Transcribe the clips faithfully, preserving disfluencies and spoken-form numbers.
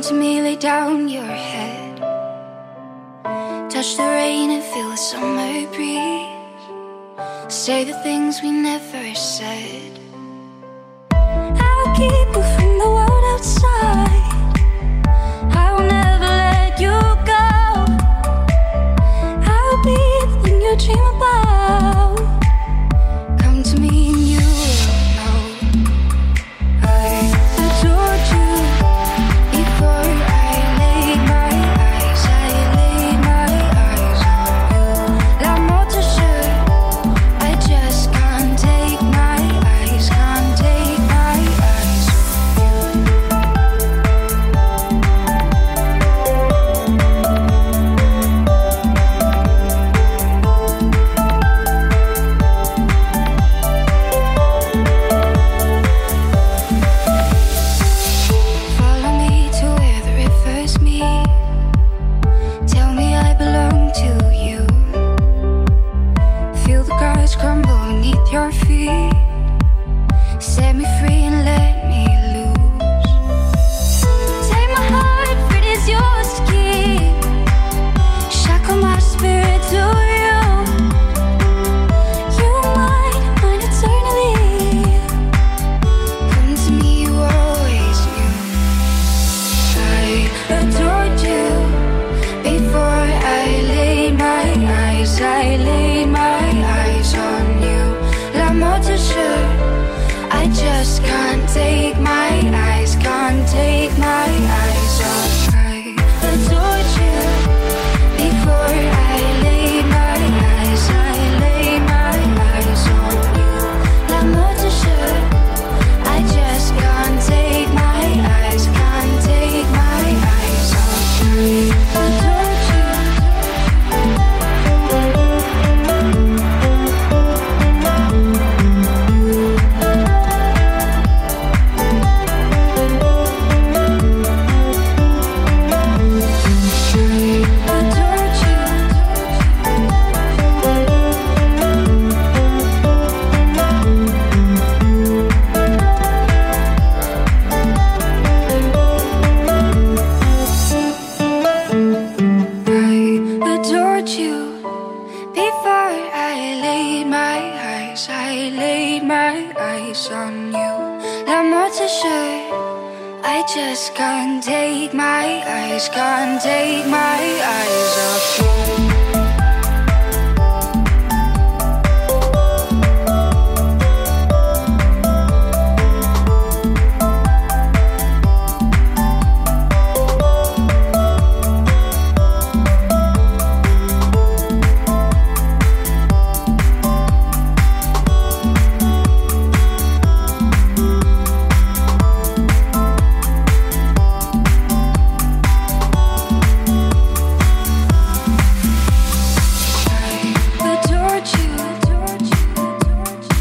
to me, lay down your head. Touch the rain and feel the summer breeze. Say the things we never said. I'll keep you from the world outside. I'll never let you go. I'll be the thing you dream about. Come to me and you will know. I adored you before I laid my eyes. I laid my eyes on you. L'amour te jure, I just can't take my eyes, can't take my eyes off you. Follow me to where the rivers meet. Tell me I belong to you. Feel the cards crumble beneath your feet. Set me free and let me loose. Take my heart, for it is yours to keep. Shackle my spirit to you. You might mine eternally. Come to me, you always knew. I adored you before I laid my eyes. I laid my eyes on you. L'amour te jure, I just can't take my eyes, can't take my eyes off. I adored you before I laid my eyes. I laid my eyes on you. L'amour te jure, I just can't take my eyes, can't take my eyes off. I adored you. I adored you before I laid my eyes. I laid my eyes on you. L'amour te jure, I just can't take my eyes, can't take my eyes off you. Adored you, adored you, adored you.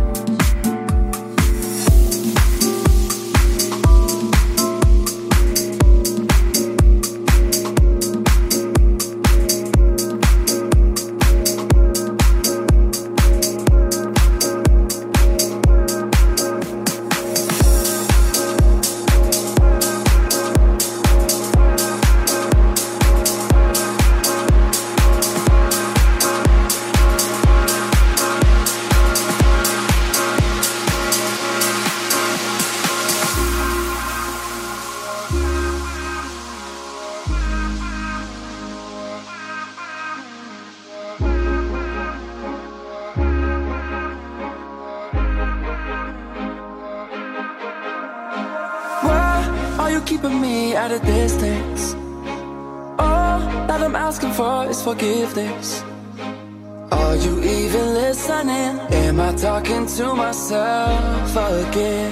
Why are you keeping me at a distance? All that I'm asking for is forgiveness. Are you even listening? Am I talking to myself again?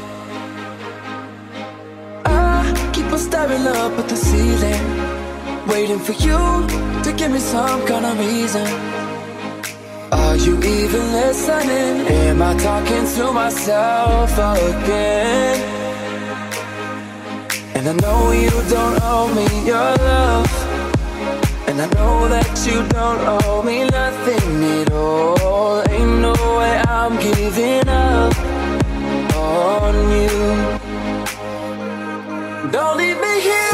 I keep on staring up at the ceiling, waiting for you to give me some kind of reason. Are you even listening? Am I talking to myself again? And I know you don't owe me your love, and I know that you don't owe me nothing at all. Ain't no way I'm giving up on you. Don't leave me here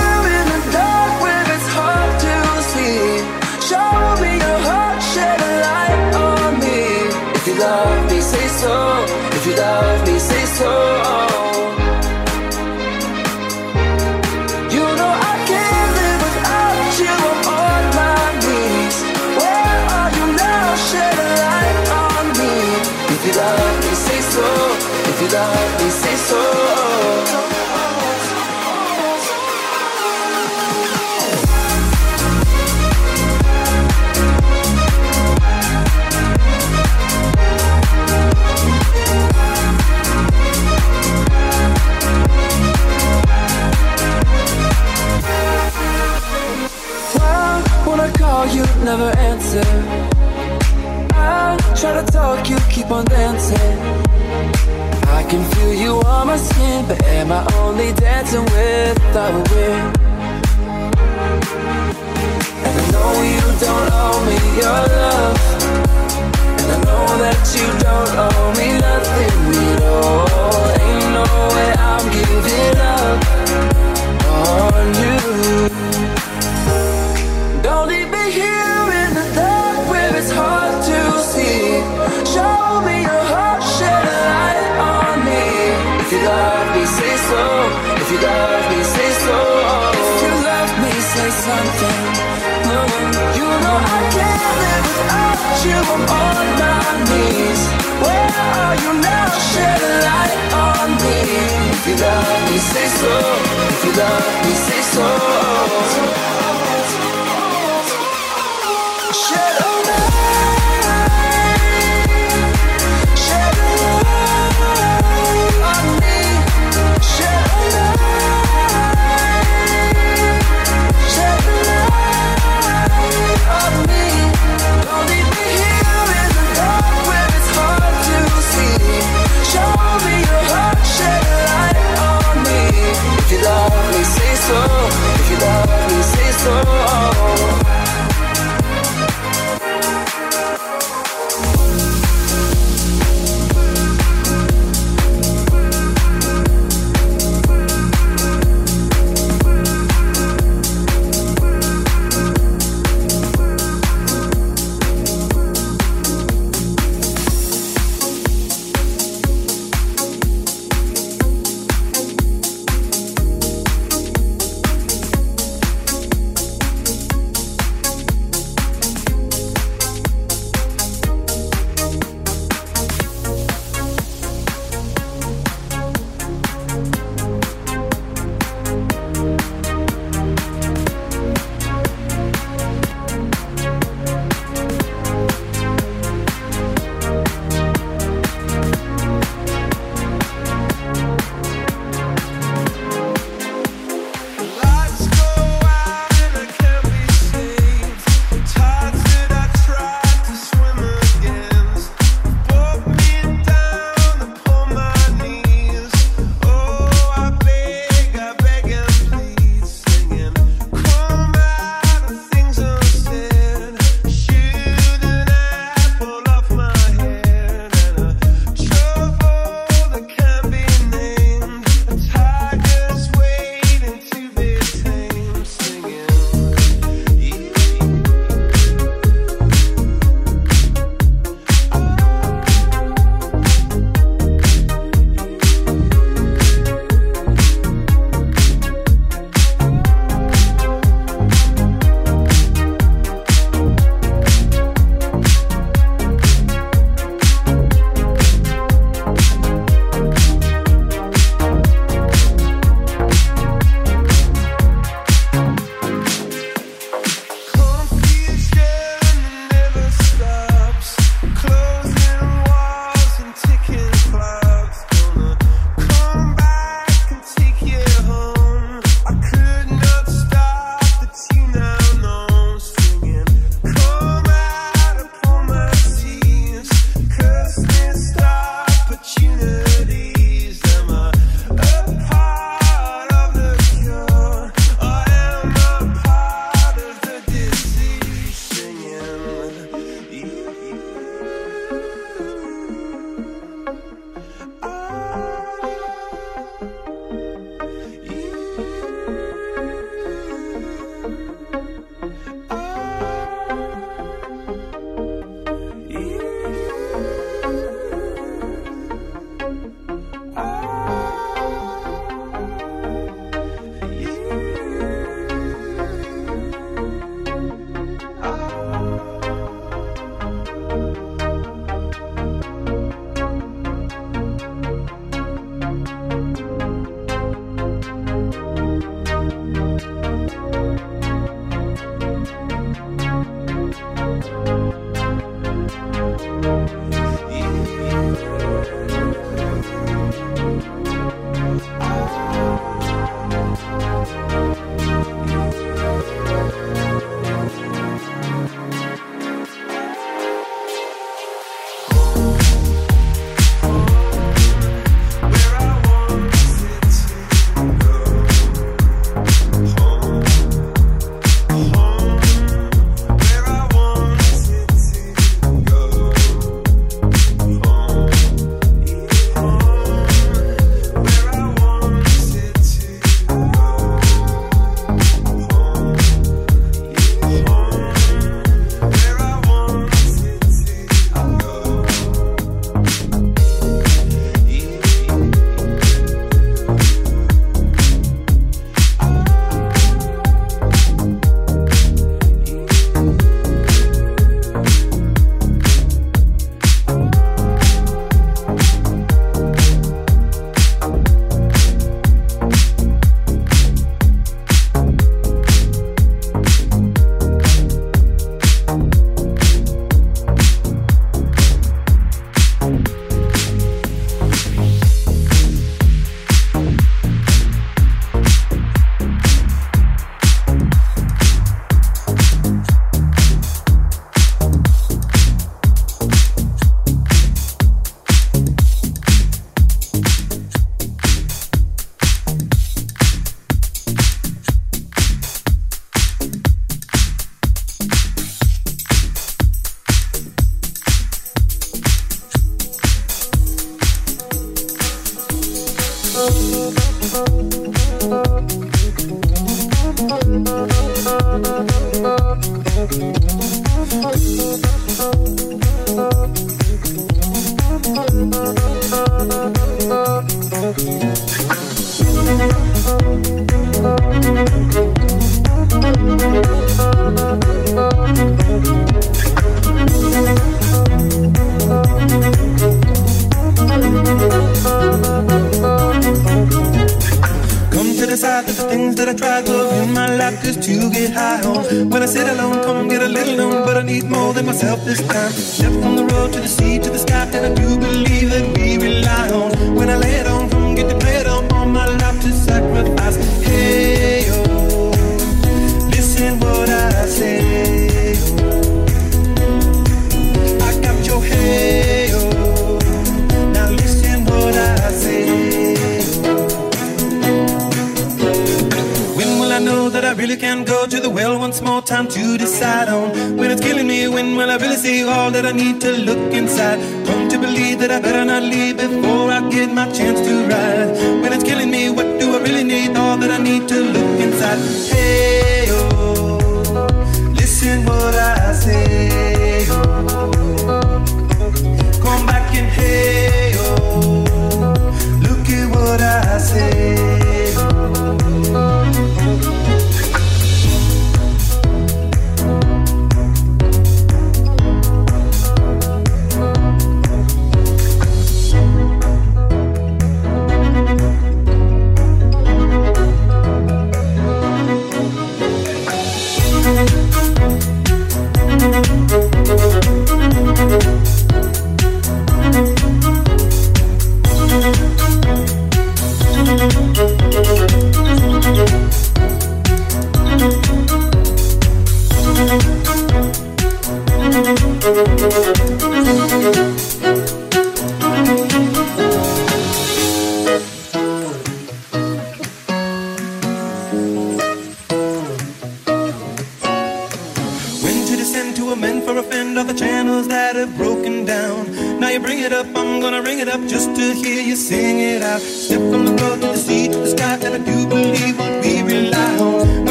love me, say so. You never answer. I try to talk, you keep on dancing. I can feel you on my skin, but am I only dancing with the wind? And I know you don't owe me your love, and I know that you don't owe me nothing at all. Ain't no way I'm giving up on you. Don't leave me here in the dark where it's hard to see. Show me your heart, shed a light on me. If you love me, say so. If you love me, say so. If you love me, say something. You know I can't live without you. I'm on my knees. Where are you now? Shed a light on me. If you love me, say so. If you love me, say so. Shed a light, shed a light on me. Shed a light, shed a light on me. Don't leave me here in the dark where it's hard to see. Show me your heart, shed a light on me. If you love me, say so. If you love me, say so.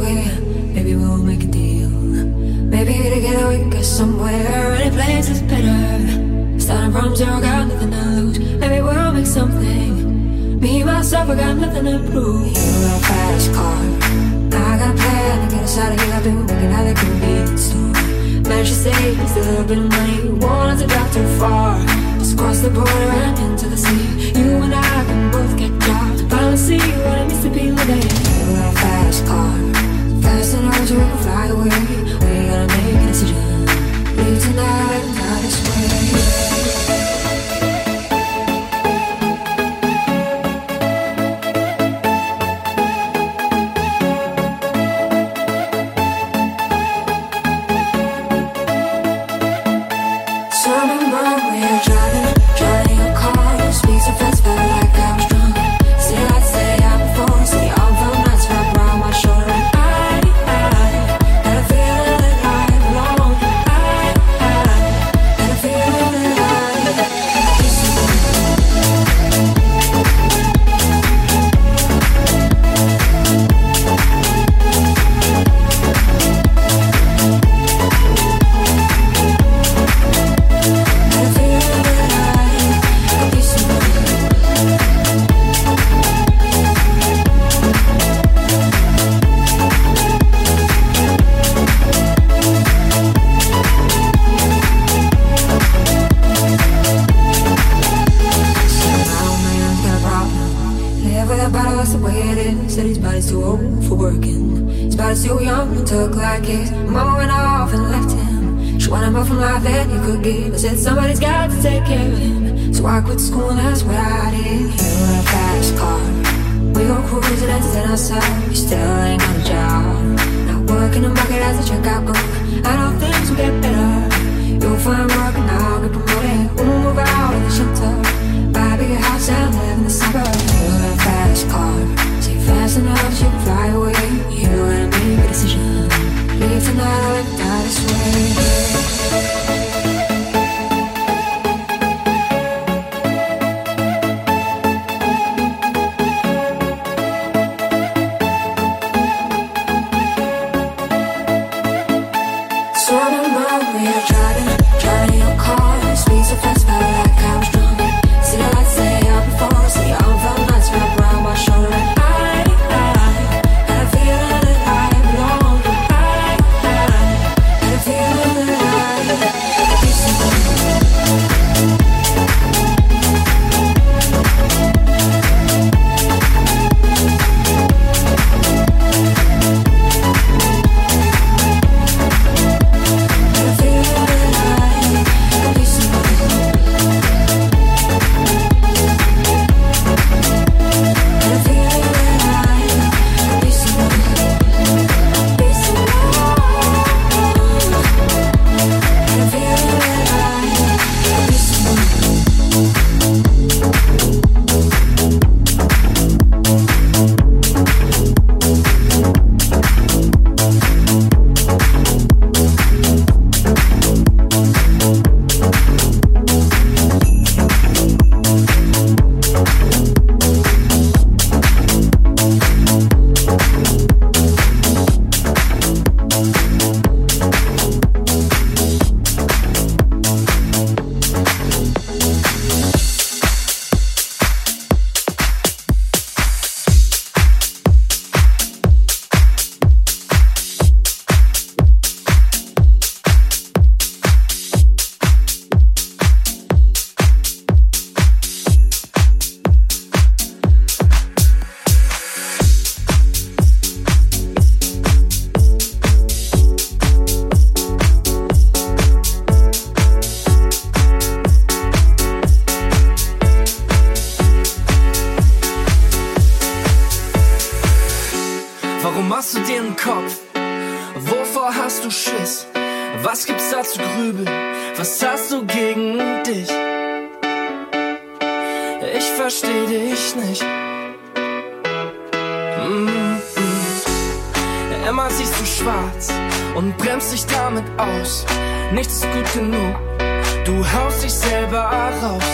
away. Maybe we'll make a deal. Maybe together we can get somewhere. Any place is better. Starting from zero, got nothing to lose. Maybe we'll make something. Me, myself, I got nothing to prove. You got a fast car. I got a plan to get us out of here. I've been working at the convenience store. Man, she say it's a little bit of money. Won't have to drive too far. Just cross the border and into the sea. You and I can both get jobs. Finally see what it means to be living. You got a fast car. Fast enough so we can fly away. We gotta make a decision. Leave tonight and die this way. Said somebody's got to take care of him. So I quit school and that's what I did. You got a fast car. We go cruising and set outside. You still ain't got a job. Not working the market as a checkout girl. I know things will get better. You'll find work and I'll get promoted. We'll move out of the shelter. Buy a bigger house and live in the suburbs. You got a fast car. Say fast enough so you can fly away. You gotta make a decision. Leave tonight or die this way. Was gibt's da zu grübeln? Was hast du gegen dich? Ich versteh dich nicht. Mm-mm. Immer siehst du schwarz und bremst dich damit aus. Nichts ist gut genug, du haust dich selber raus.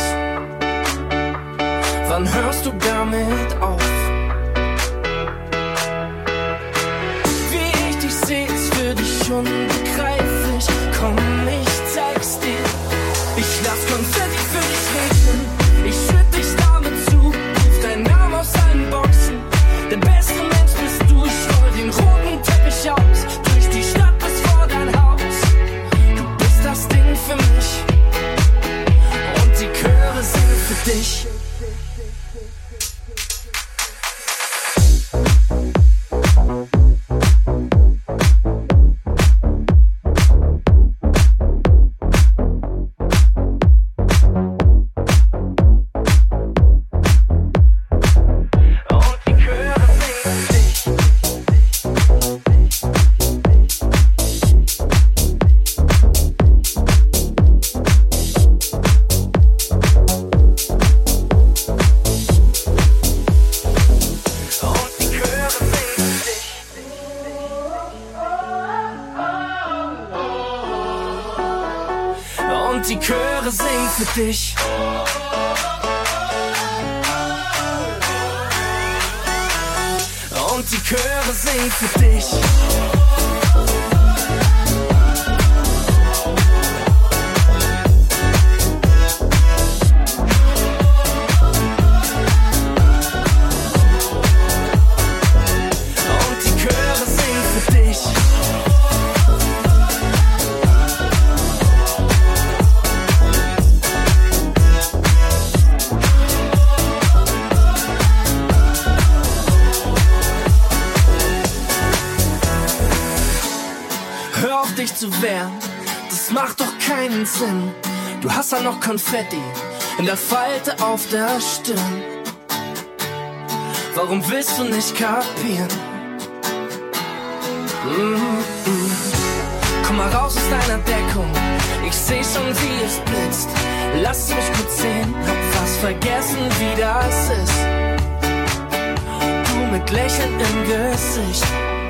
Wann hörst du damit auf? Wie unbegreiflich. Komm, ich zeig's dir. Ich lass Konfetti für dich regnen. Ich schütt dich damit zu. Ruf deinen Namen aus allen Boxen. Der beste Mensch bist du. Ich roll den roten Teppich aus. Durch die Stadt bis vor dein Haus. Du bist das Ding für mich. Und die Chöre singen für dich. Die Chöre singen für dich. Und die Chöre singen für dich. Und die Chöre singen für dich. Dich zu wehren, das macht doch keinen Sinn. Du hast ja noch Konfetti in der Falte auf der Stirn. Warum willst du nicht kapieren? Mm-mm. Komm mal raus aus deiner Deckung, ich seh schon, wie es blitzt. Lass mich kurz sehen, hab fast vergessen, wie das ist. Du mit Lächeln im Gesicht.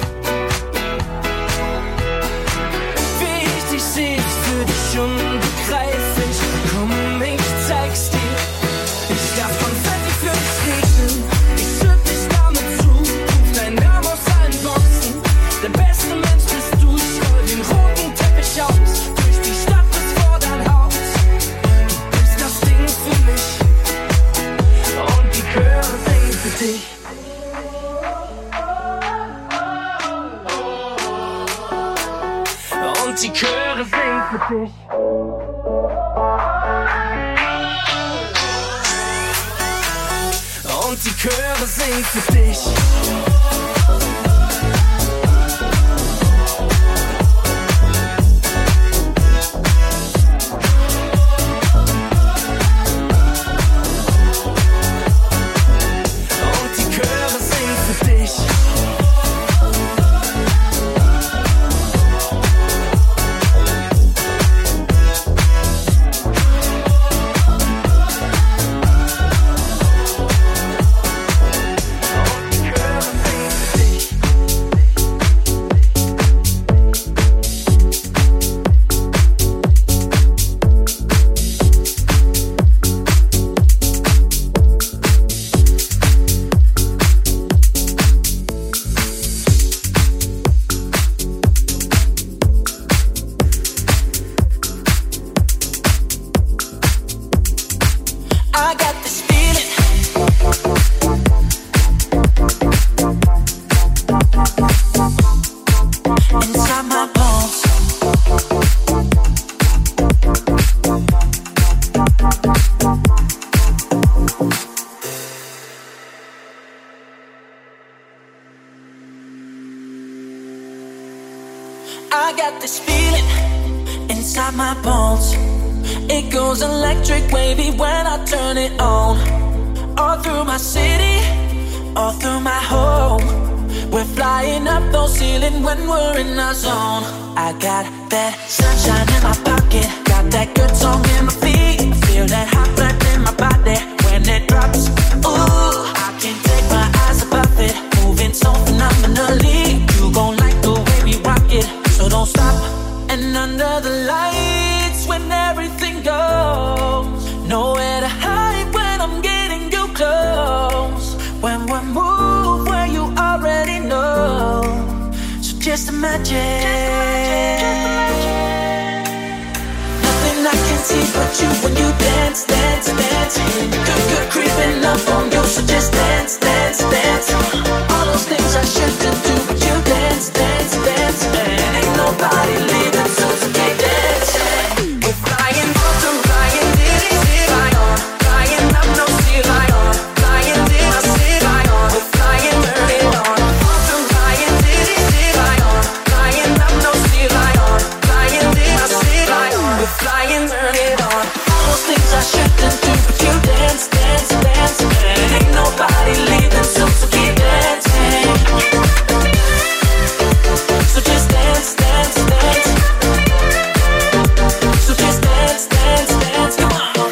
Ich seh's für dich unbegreiflich. Komm, ich zeig's dir. Ich lass Konfetti für dich regnen. Ich schütt dich damit zu. Ruf deinen Namen aus allen Boxen. Der beste Mensch bist du. Ich roll den roten Teppich aus. Durch die Stadt bis vor dein Haus. Du bist das Ding für mich. Und die Chöre singen für dich. Und die Chöre singen für dich. Und die Chöre singen für dich. Und die Chöre singen für dich. I got this feeling inside my bones. It goes electric wavy when I turn it on. All through my city, all through my home. We're flying up those ceilings when we're in our zone. I got that sunshine in my pocket, got that good song in my feet. I feel that hot blood in my body when it drops. Ooh, I can't take my eyes above it, moving so phenomenally. You gon' like the way we rock it, so don't stop. And under the lights, when everything goes, nowhere to hide when I'm getting you close. When we move where you already know, so just just imagine. Nothing I can see but you when you dance, dance, dance. Good, good creeping up on you, so just dance, dance, dance. All those things I shouldn't do, but you dance, dance, dance. And ain't nobody leaving, so it's okay dancing. We're flying, floating, flying, diddy, diddy, fly on. Flying up, no sea, fly on. Flying, diddy, diddy, fly on. We're flying, turn it on. Floating, flying, diddy, diddy, fly on. Flying up, no sea, fly on. Flying, diddy, diddy, fly on. We're flying, turn it on. All those things I shouldn't do, but you dance, dance, dance. And ain't nobody leaving, so so keep dancing. So just dance, dance, dance. So just dance, dance, dance. Come on.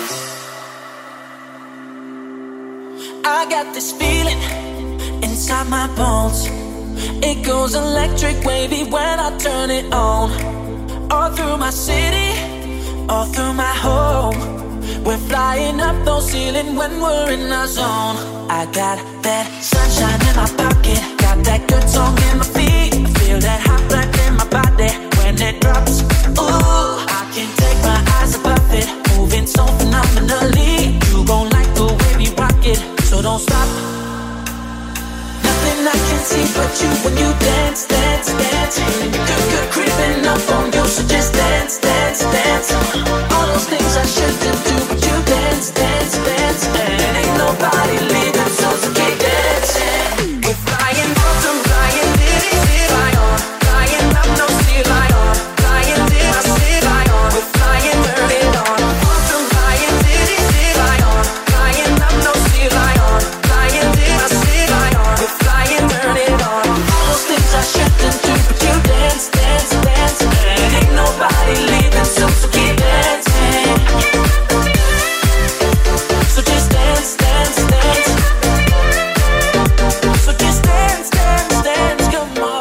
I got this feeling inside my bones. It goes electric wavy when I turn it on. All through my city, all through my home. We're flying up those ceilings when we're in our zone. I got that sunshine in my pocket, got that good song in my feet. Feel that hot blood in my body when it drops. Ooh, I can't take my eyes above it, moving so phenomenally. You gon' like the way we rock it, so don't stop. Nothing I can see but you when you dance, dance, dance. Good, good creeping up on you, so just dance, dance, dance. All those things I shouldn't do, but you dance, dance, dance. And ain't nobody leaving, so so keep dancing. We're flying, floating, flying, diddy, diddy, fly on. Flying up, no sea, fly on. Flying, diddy, diddy, fly on. We're flying, turn it on. Floating, flying, diddy, diddy, fly on. Flying up, no sea, fly on. Flying, diddy, diddy, fly on. We're flying, turn it on. All those things I shouldn't do, but you dance, dance, dance. And ain't nobody leaving, so so keep dancing. So just dance, dance, dance. So just dance, dance, dance. Come on.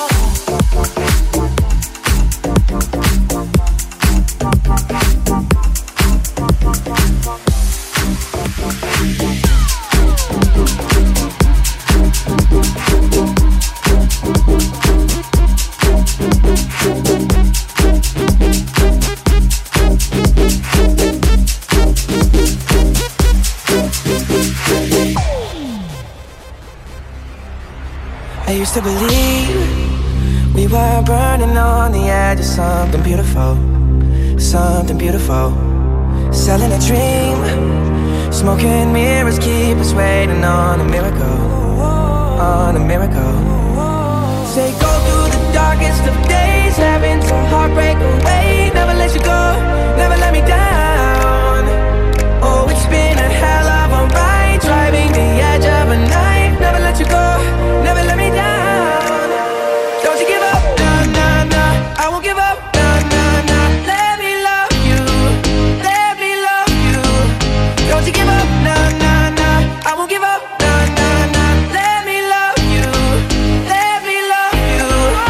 I used to believe we were burning on the edge of something beautiful, something beautiful. Selling a dream, smoking mirrors keep us waiting on a miracle, on a miracle. Say go through the darkest of days, having to heartbreak away. Never let you go, never let me down. Oh, it's been a hell of a ride, driving the edge of a knife. Never let you go, never let me down. Don't you give up, nah, nah, nah. I won't give up, nah, nah, nah. Let me love you, let me love you. Don't you give up, nah, nah, nah. I won't give up, nah, nah, nah. Let me love you, let me love you.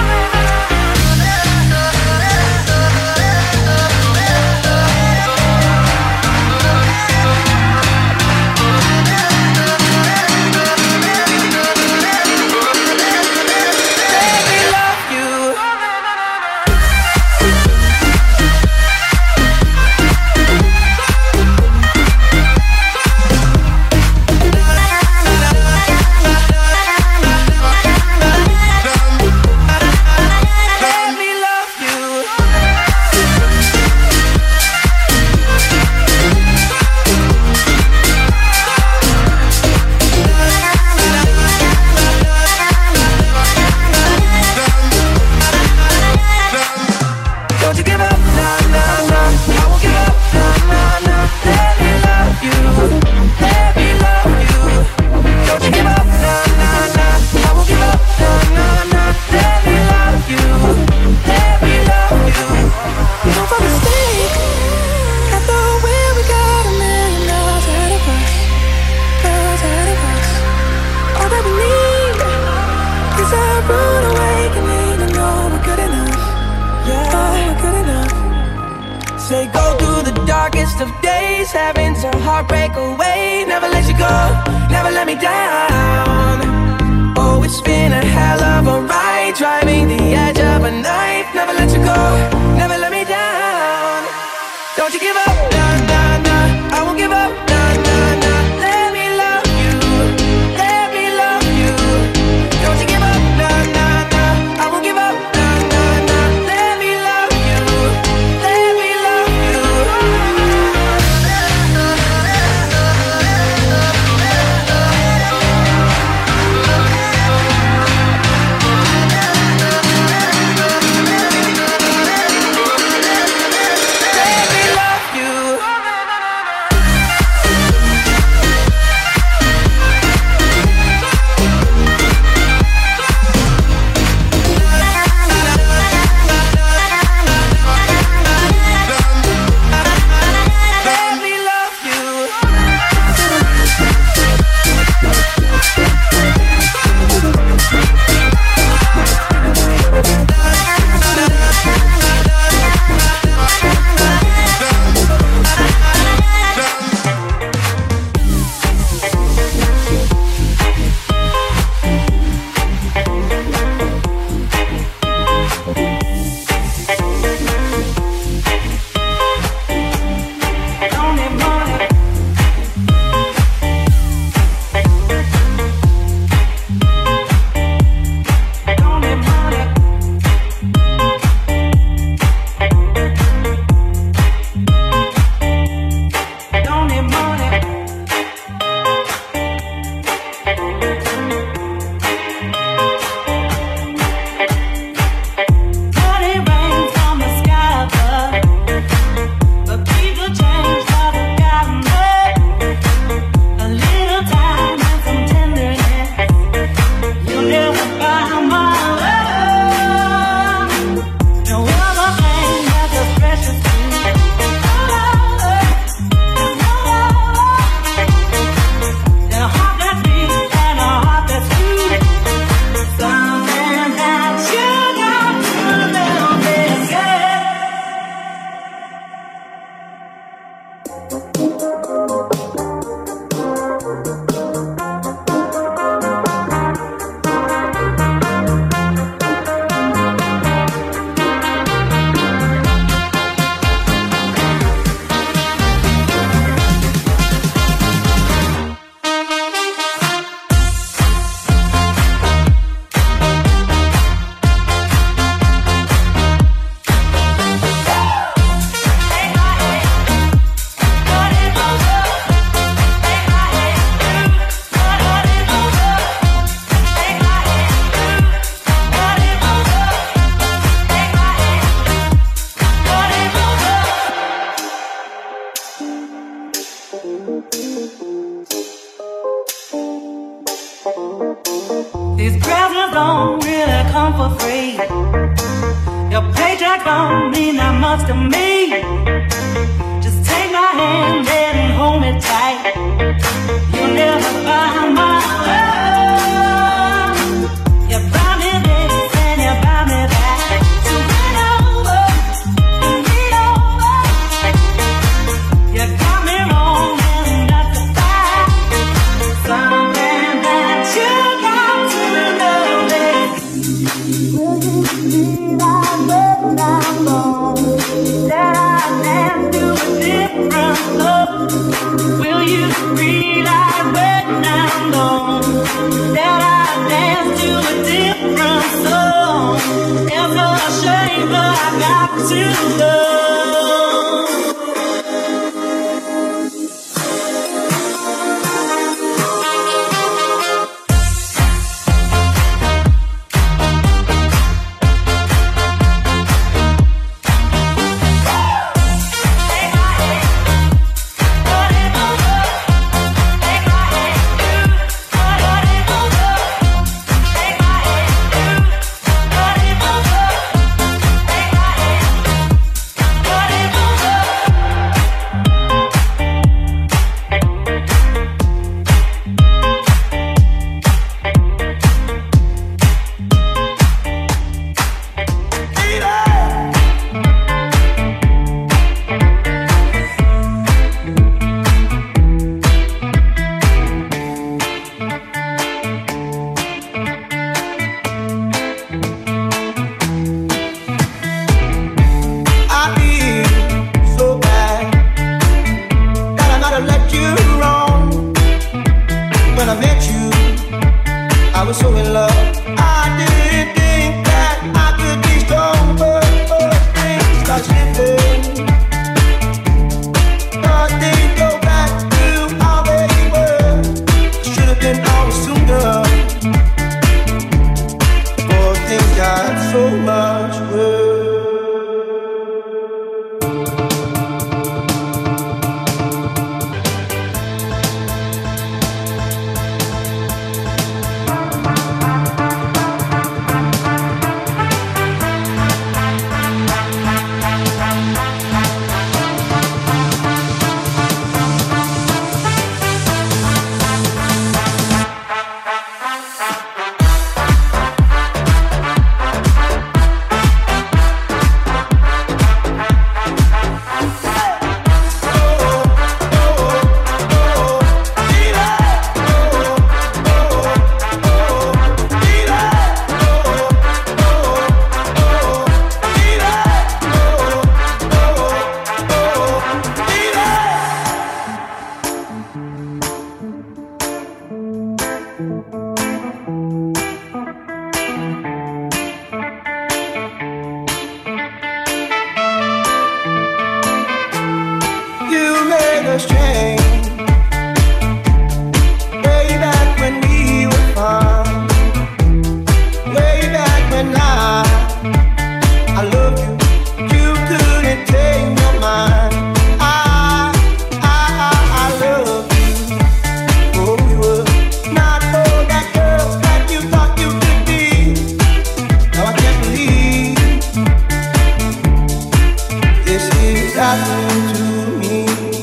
Say go through the darkest of days, having to heartbreak away. Never let you go, never let me down. Oh, it's been a hell of a ride, driving the edge of a knife. Never let you go, never let me down. Don't you give up, nah, nah, nah. I won't give up, nah, nah, nah. Let me love you, let me love you. Don't you give up, nah, nah, nah. I won't give up, nah, nah, nah. Let me love you, let me love you. These presents don't really come for free. Your paycheck don't mean that much to me. Just take my hand and hold me tight. You'll never find my love. You buy me this and you buy me that. So run over and lean over. You got me wrong and not to fight. Something that you got to know is will you be like when I'm gone? That I dance to a different love. Will you realize when I'm gone that I dance to a different song? It's a shame, but I got to love. Take my hand, us change. Way back when we were fun. Way back when I, I loved you. You couldn't take your mind. I, I, I, I love you. Oh, you were not for that girl that you thought you could be. Now I can't believe this is happening to me.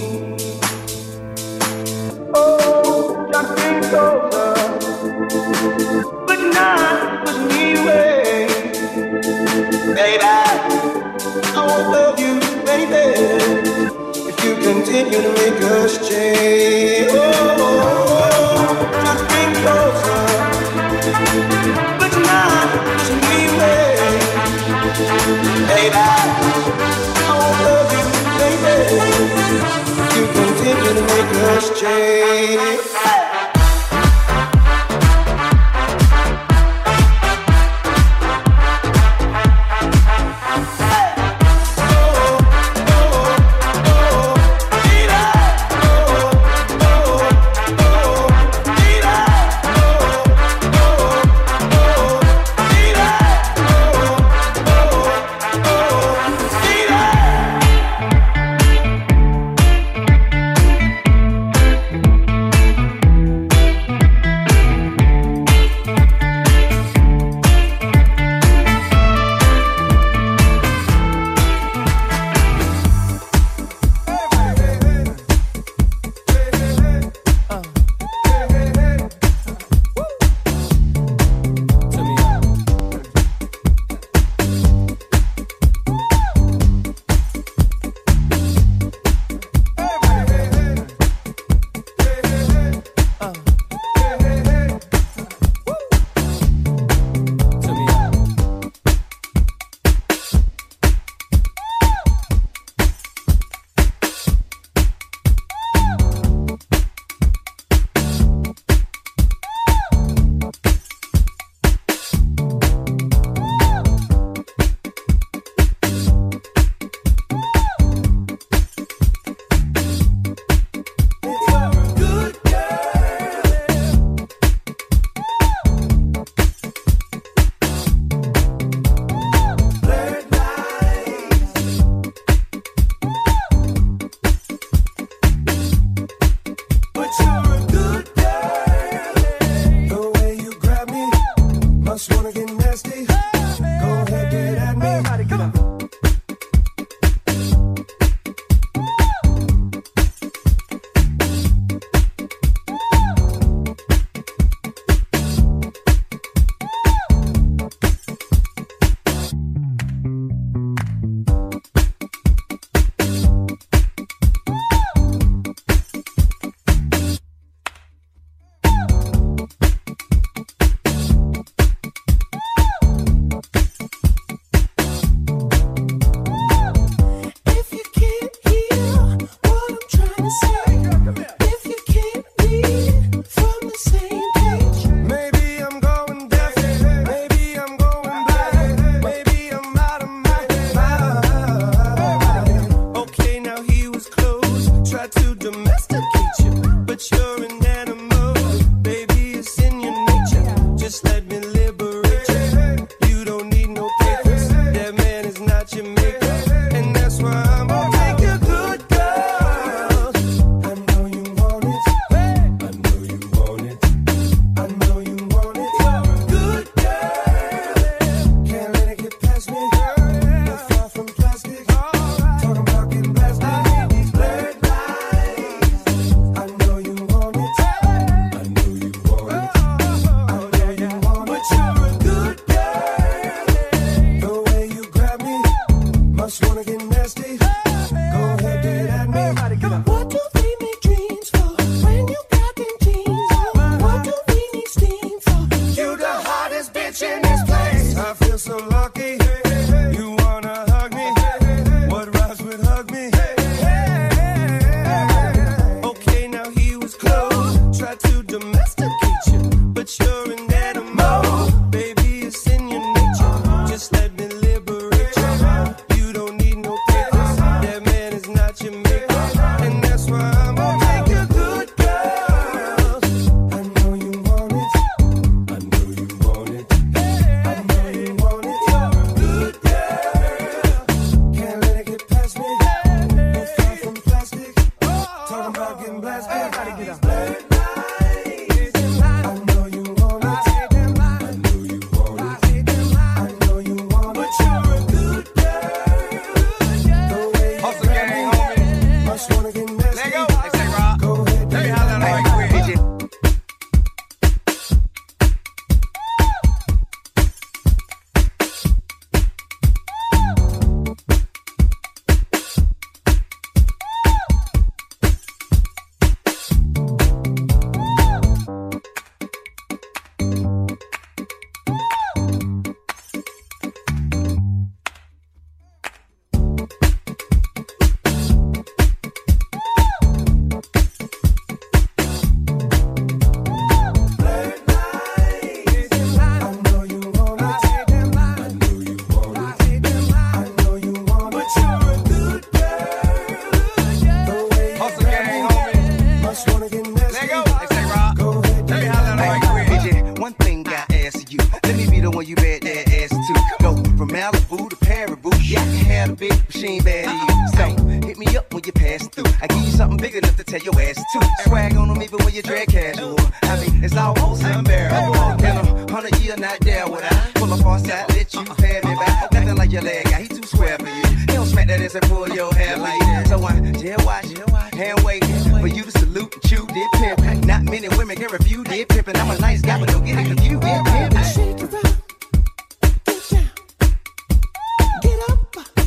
Oh, just think closer, but not push me away, baby. I won't love you, baby, if you continue to make us change. Oh, just think closer, but not push me away, baby. I won't love you, baby, if you continue to make us change. Harry boo. Yeah, I can have a bitch, but she ain't bad either. So hit me up when you pass through. I give you something big enough to tell your ass to. Swag on them even when you drag casual. I mean, it's almost unbearable. In a hundred year, not there would I pull up on side, let you pay me back. Nothing like your leg guy, he too square for you. He don't smack that ass and pull your hair like that. So I just watch, hand wait for you to salute and chew, did pimp. Not many women can refuse, did pimpin'. I'm a nice guy, but don't get it confused, did pimp. Shake it up, get down, get up.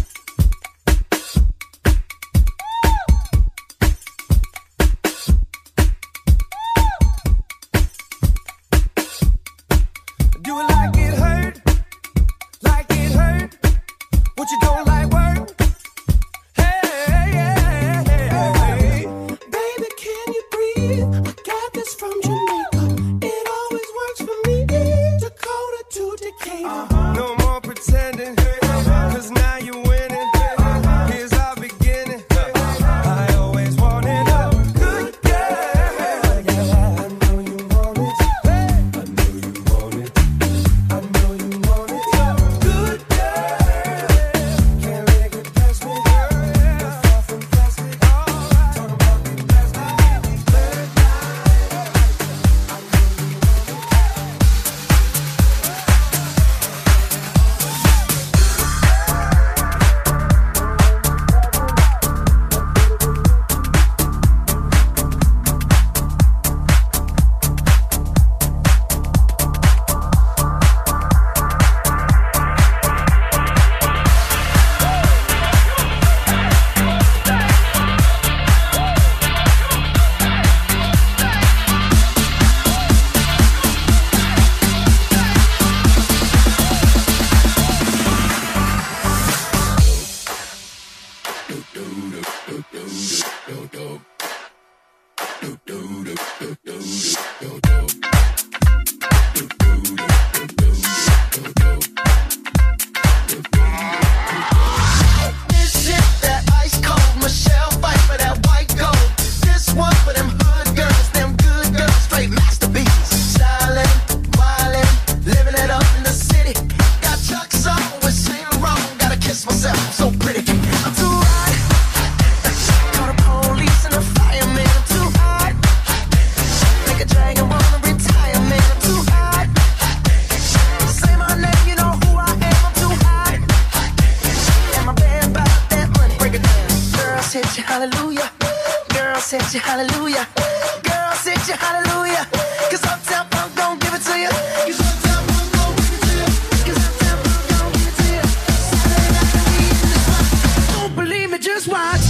Do it like it hurt, like it hurt. What you don't like work? Hey, hey, hey, hey. Baby, can you breathe? I got this from Jamaica. It always works for me. Dakota to Decatur. Uh-huh. No more pretending, cause now you're winning. Here's our beginning. I always wanted a good girl. I know you want it. I know you want it. I know you want it. Good girl. Can't let it pass me. You're far from plastic. Talk about the plastic. Third night. I know you want it. This shit that ice cold, Michelle fight for that white gold. This one for them hood girls, them good girls, straight masterpieces. Stylin', wildin', living it up in the city. Got Chuck's on with Saint Laurent, gotta kiss myself, I'm so pretty. I'm too hot. Call the police and the fireman, I'm too hot. Make a dragon wanna retire, man, I'm too hot. Say my name, you know who I am, I'm too hot. And my band about that money, break it down. Girls hit you, hallelujah. Girls hit you, hallelujah. Girls hit you, hallelujah. Cause Uptown Funk gon' give it to you. Cause Uptown Funk gon' give it to you. Cause Uptown Funk gon' give it to you. Saturday night we in the spot. Don't believe me, just watch.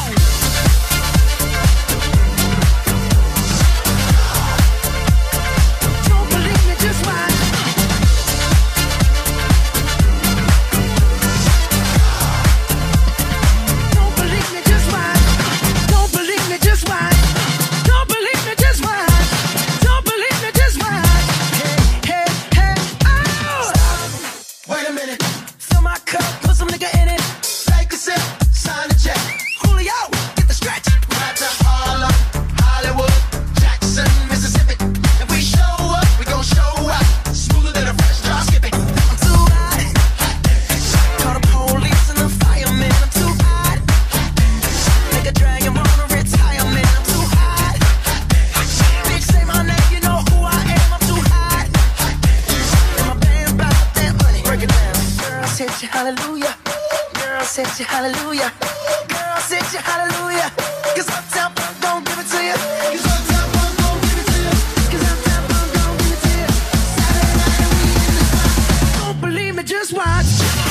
Don't believe me, just watch. Don't believe me, just watch. Don't believe me, just watch. Don't believe me, just watch. Don't believe me, just watch. Hey, hey, hey, oh! Wait a minute. Fill my cup, put some nigga in it. Take a sip, sign the check. Julio, get the stretch. Right to Harlem, Hollywood, Jackson, Mississippi. If we show up, we gon' show out. Smoother than a fresh drop skipping. I'm too hot. Call the police and the fireman. I'm too hot. Make a dragon wanna retire, man. I'm too hot. Bitch, say my name, you know who I am. I'm too hot. And my band about that money. Break it down. Girls hit you, hallelujah. Girls hit you, hallelujah. Girls hit you, hallelujah. Cause Uptown Funk gon' give it to you. Cause Uptown Funk gon' give it to you. Cause Uptown Funk gon' give it to you. Saturday night we in the spot. Don't believe me, just watch.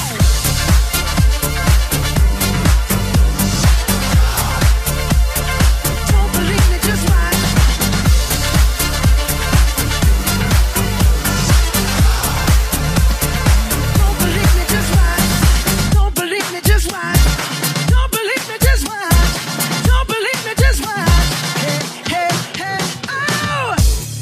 Don't believe me, just watch. Don't believe me, just watch. Don't believe me, just watch. Don't believe me, just watch. Don't believe me, just watch. Hey, hey, hey, oh!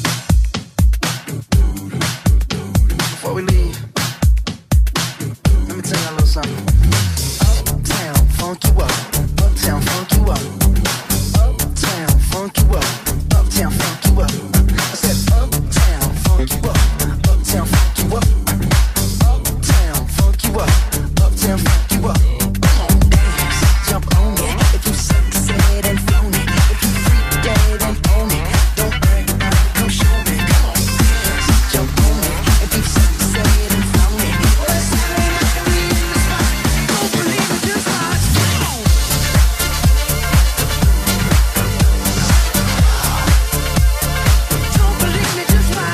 Before we leave, let me tell you a little something. Uptown, funk you up. Uptown, funk you up. Uptown, funk you up. Uptown, funk you up. I said uptown, funk you up. Uptown, funk you up. Uptown, funk you up. Uptown. and funk you up. Come on, dance, jump on it. If you sexed and flown it, if you freak dead and own it, don't brag about it, come show me. Come on, dance, jump on it. If you sexed and flown it, well, it's Saturday night and we in the spot. Don't believe it, just watch. Come on. Don't believe me, just watch.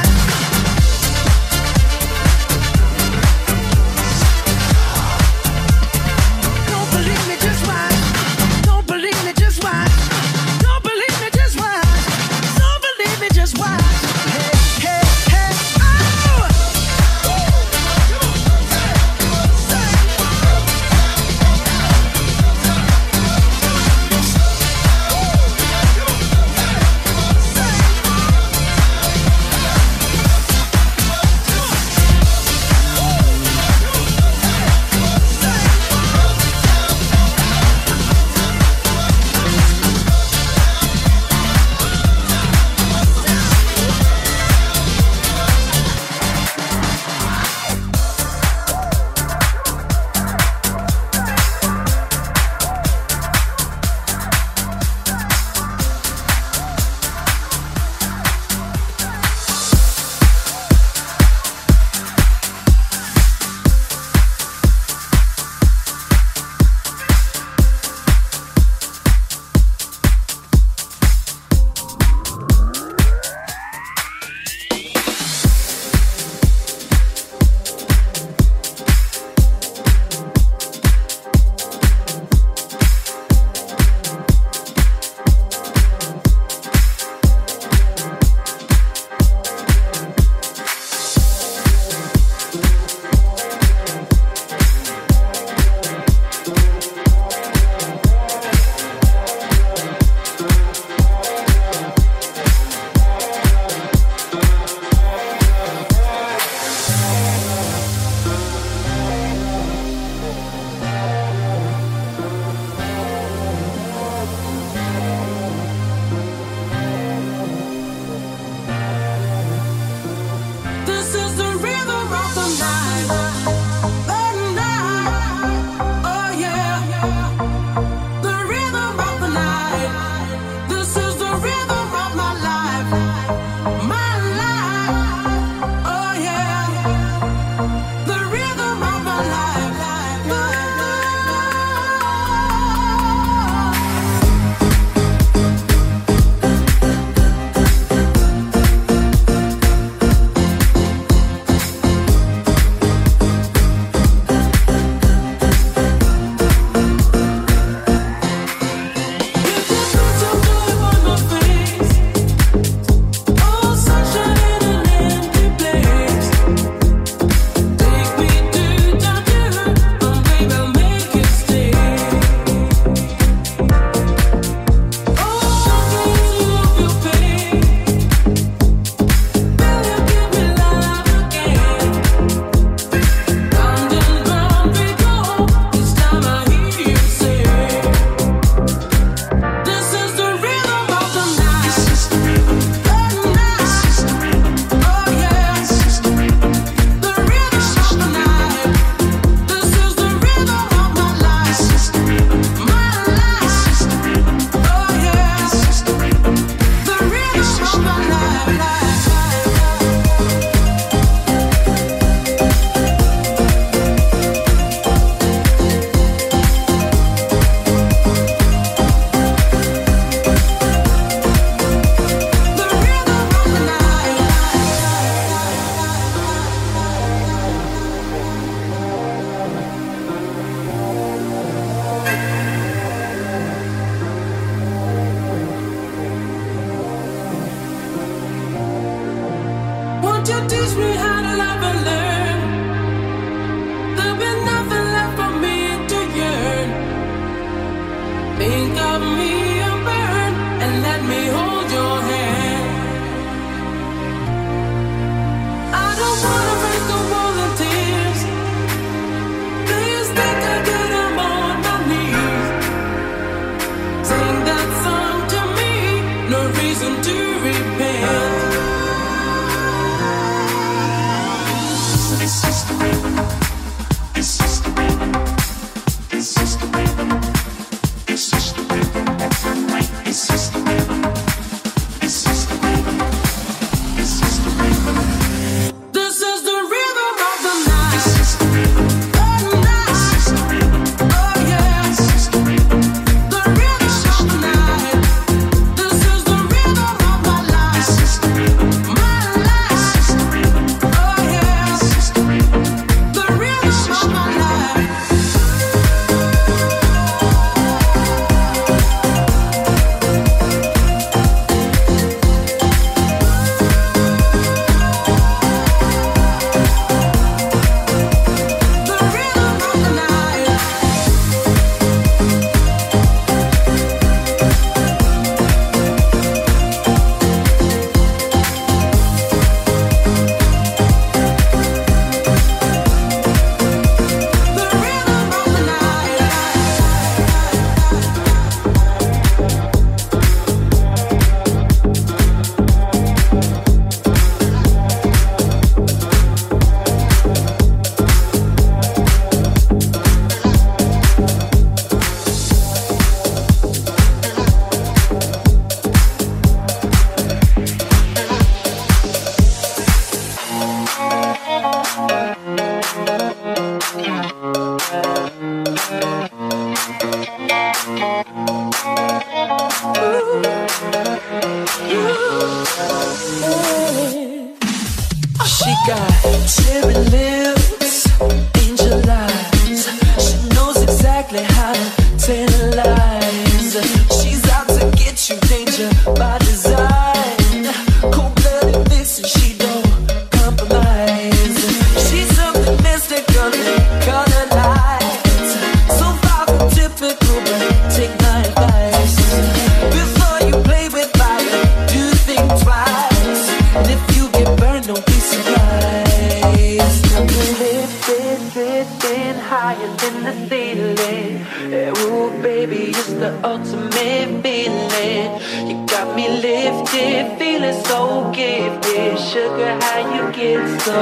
trying to tantalize. She's out to get you, danger by design. Cold-blooded vixen, she don't compromise. She's something mystical and color lights. So far from typical, but take my advice. Before you play with fire, do think twice. And if you get burned, don't be surprised. I'm lifted, drifting higher than the ceiling. Ooh, baby, it's the ultimate feeling. You got me lifted, feeling so gifted. Sugar, how you get so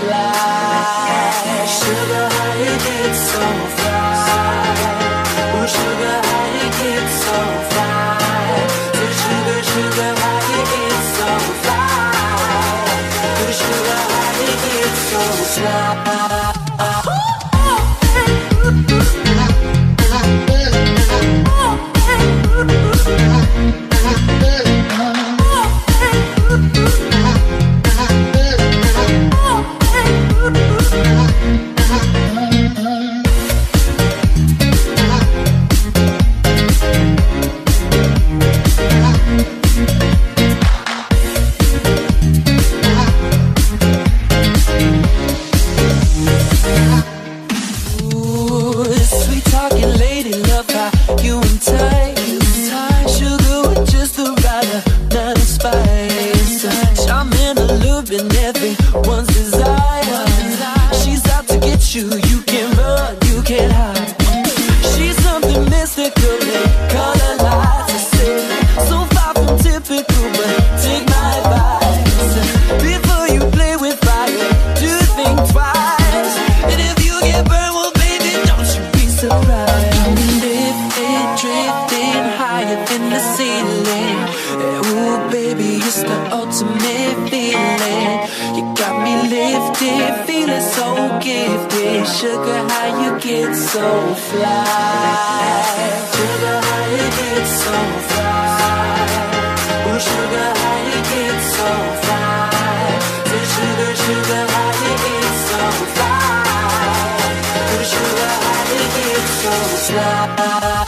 fly? Sugar, how you get so fly? Ooh, sugar, how you get so fly? Ooh, sugar, sugar, how you get so fly? Ooh, sugar, how you get so fly? Sugar, how you get so fly?